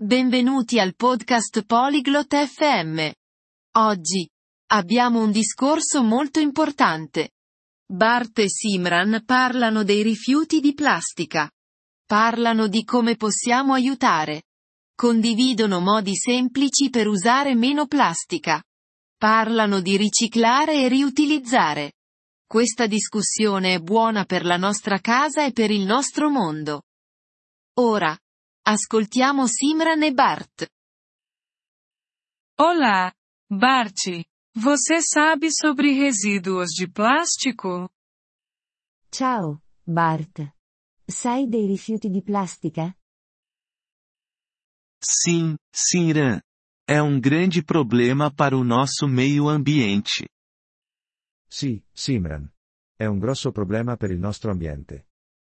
Benvenuti al podcast Polyglot FM. Oggi abbiamo un discorso molto importante. Bart e Simran parlano dei rifiuti di plastica. Parlano di come possiamo aiutare. Condividono modi semplici per usare meno plastica. Parlano di riciclare e riutilizzare. Questa discussione è buona per la nostra casa e per il nostro mondo. Ora, ascoltiamo Simran e Bart. Olá, Bart. Você sabe sobre resíduos de plástico? Ciao, Bart. Sai dei rifiuti di plastica? Sim, Simran. É grande problema para o nosso meio ambiente. Sì, Simran. È un grosso problema per il nostro ambiente.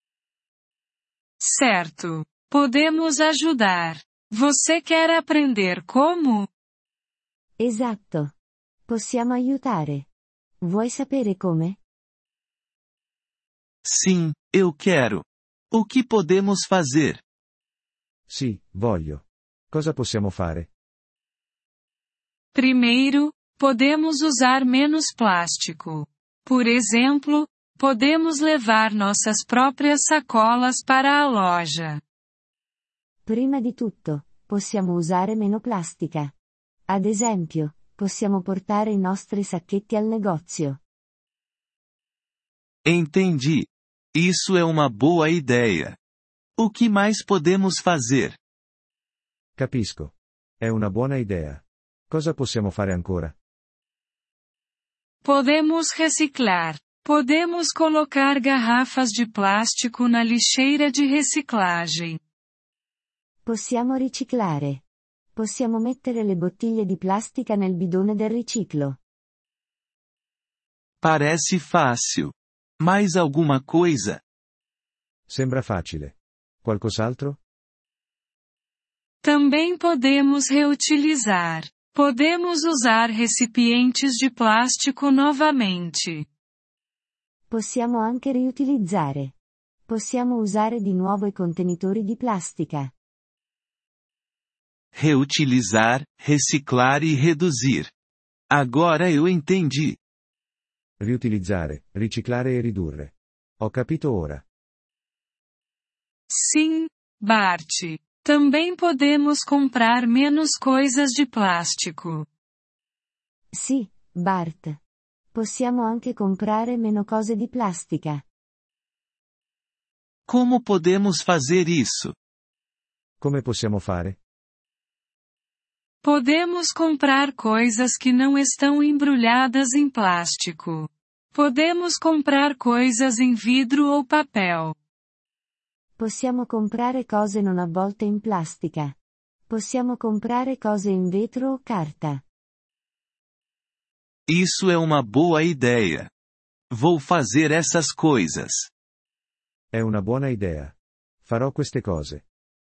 Certo. Podemos ajudar. Você quer aprender como? Esatto. Possiamo aiutare. Vuoi sapere come? Sim, eu quero. O que podemos fazer? Sì, voglio. Cosa possiamo fare? Primeiro, podemos usar menos plástico. Por exemplo, podemos levar nossas próprias sacolas para a loja. Prima di tutto, possiamo usare meno plastica. Ad esempio, possiamo portare i nostri sacchetti al negozio. Entendi. Isso é uma boa ideia. O que mais podemos fazer? Capisco. È una buona idea. Cosa possiamo fare ancora? Podemos reciclar. Podemos colocar garrafas de plástico na lixeira de reciclagem. Possiamo riciclare. Possiamo mettere le bottiglie di plastica nel bidone del riciclo. Parece fácil. Mais alguma coisa? Sembra facile. Qualcos'altro? Também podemos reutilizar. Podemos usar recipientes de plástico novamente. Possiamo anche riutilizzare. Possiamo usare di nuovo i contenitori di plastica. Reutilizar, reciclar e reduzir. Agora eu entendi. Riutilizzare, riciclare e ridurre. Ho capito ora. Sim, Bart. Também podemos comprar menos coisas de plástico. Sì, Bart. Possiamo anche comprare meno cose di plastica. Como podemos fazer isso? Come possiamo fare? Podemos comprar coisas que não estão embrulhadas em plástico. Podemos comprar coisas em vidro ou papel. Possiamo comprare cose non avvolte in plastica. Possiamo comprare cose in vetro o carta. Isso é uma boa ideia. Vou fazer essas coisas. È una buona idea. Farò queste cose.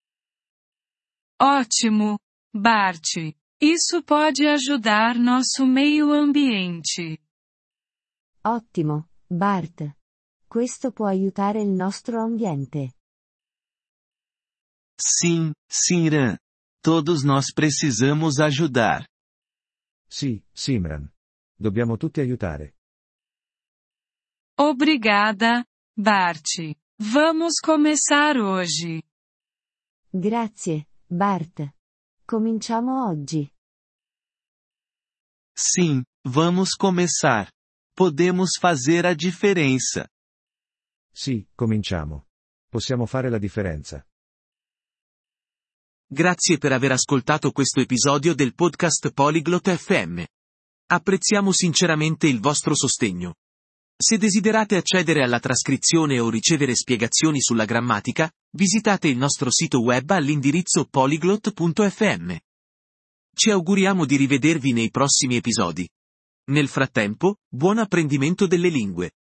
Ótimo, Bart. Isso pode ajudar nosso meio ambiente. Ottimo, Bart. Questo può aiutare il nostro ambiente. Sim, Simran. Todos nós precisamos ajudar. Sì, Simran. Dobbiamo tutti aiutare. Obrigada, Bart. Vamos começar hoje. Grazie, Bart. Cominciamo oggi. Sim, vamos começar. Podemos fazer a diferença. Sì, cominciamo. Possiamo fare la differenza. Grazie per aver ascoltato questo episodio del podcast Polyglot FM. Apprezziamo sinceramente il vostro sostegno. Se desiderate accedere alla trascrizione o ricevere spiegazioni sulla grammatica, visitate il nostro sito web all'indirizzo polyglot.fm. Ci auguriamo di rivedervi nei prossimi episodi. Nel frattempo, buon apprendimento delle lingue.